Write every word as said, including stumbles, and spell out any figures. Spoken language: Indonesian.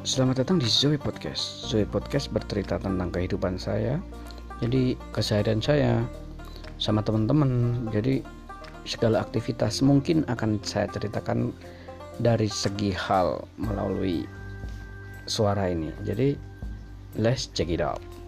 Selamat datang di Zoe Podcast. Zoe Podcast bercerita tentang kehidupan saya, jadi keseharian saya sama teman-teman. Jadi segala aktivitas mungkin akan saya ceritakan dari segi hal melalui suara ini. Jadi let's check it out.